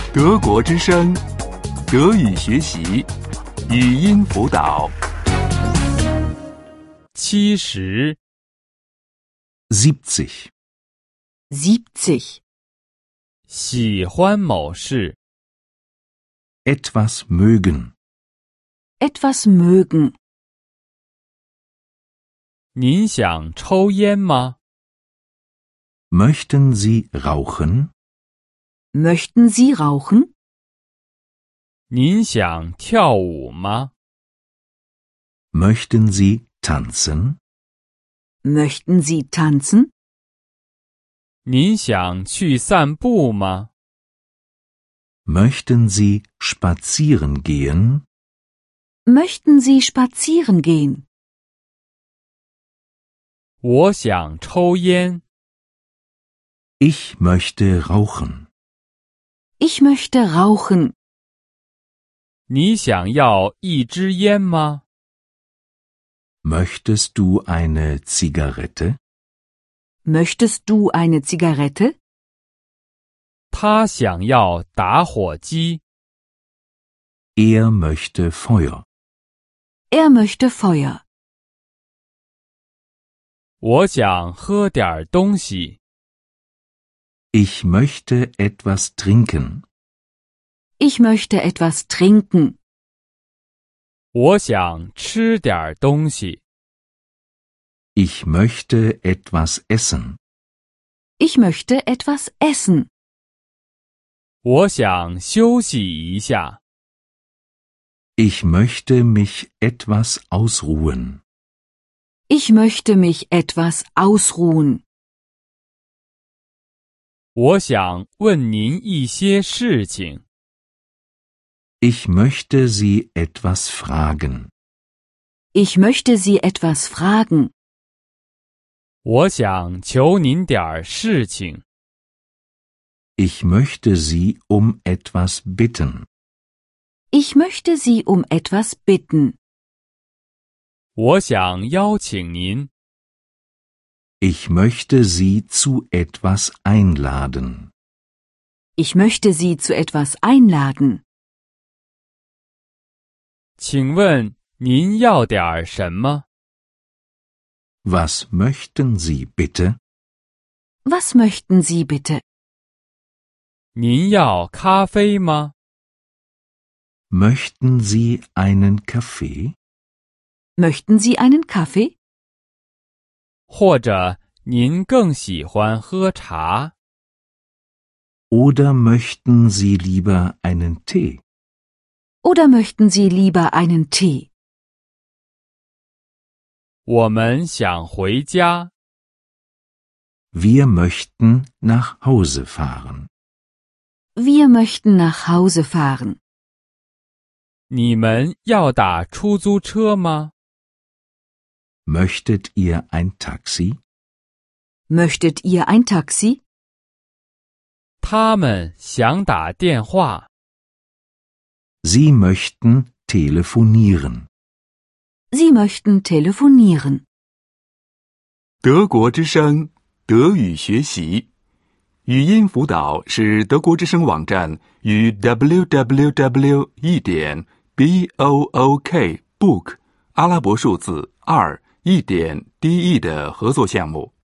德国之声，德语学习，语音辅导。 70 70. 喜欢某事。 Etwas mögen. Etwas mögen. 您想抽烟吗？ Möchten Sie rauchen? Möchten Sie rauchen? 您想跳舞吗？ Möchten Sie tanzen? Möchten Sie tanzen? 您想去散步吗？ Möchten Sie spazieren gehen? Möchten Sie spazieren gehen? 我想抽烟。 Ich möchte rauchen. Ich möchte rauchen. 你想要一支烟吗？ Möchtest du eine Zigarette? Möchtest du eine Zigarette? 他想要打火机。 Er möchte Feuer. Er möchte Feuer. 我想喝点东西。 Ich möchte etwas trinken. Ich möchte etwas trinken. 我想吃点东西。 Ich möchte etwas essen. Ich möchte etwas essen. 我想休息一下。 Ich möchte mich etwas ausruhen. Ich möchte mich etwas ausruhen. 我想问您一些事情。 Ich möchte Sie etwas fragen. Ich möchte Sie etwas fragen. 我想求您点事情。 Ich möchte Sie um etwas bitten. Ich möchte Sie um etwas bitten. 我想邀请您。 Ich möchte Sie zu etwas einladen. Ich möchte Sie zu etwas einladen. 请问您要点什么？ Was möchten Sie bitte? Was möchten Sie bitte? 您要咖啡吗？ Möchten Sie einen Kaffee? Möchten Sie einen Kaffee? 或者您更喜欢喝茶？ Oder möchten Sie lieber einen Tee? Oder möchten Sie lieber einen Tee? 我们想回家。 Wir möchten nach Hause fahren. Wir möchten nach Hause fahren. 你们要打出租车吗？ Möchtet ihr ein Taxi? Möchtet ihr ein Taxi? 他们想打电话。 Sie möchten telefonieren. Sie möchten telefonieren. 德国之声，德语学习，语音辅导是德国之声网站与 www.book 阿拉伯数字2.de 的合作项目。